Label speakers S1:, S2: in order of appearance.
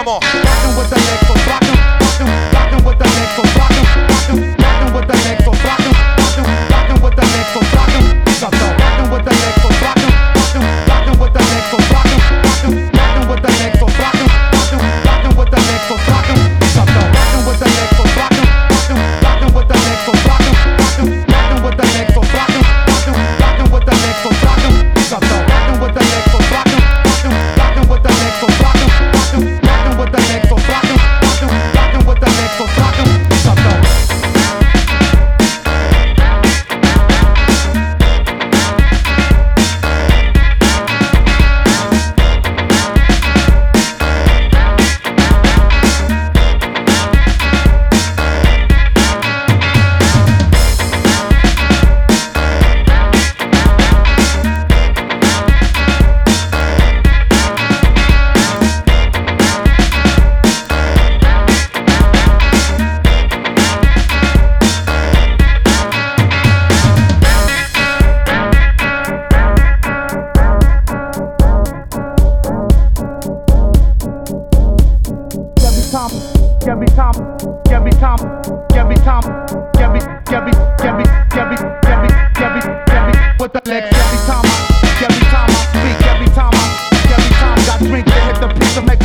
S1: Vamos.
S2: Rockin' with the Nexus, rockin' with the Nexus, rockin' with the Nexus, rockin' with the Nexus, rockin' with the Nexus, rockin' with the Nexus, rockin' with the Nexus, rockin' with the Nexus, rockin' with the Nexus, rockin' with the Nexus, rockin' with the Nexus, rockin' with the Nexus, rockin' with the Nexus, rockin' with the Nexus, rockin' with the Nexus, rockin' with the Nexus, rockin' with the Nexus, rockin' with the next every time I speak, every time got drink to hit the piece to make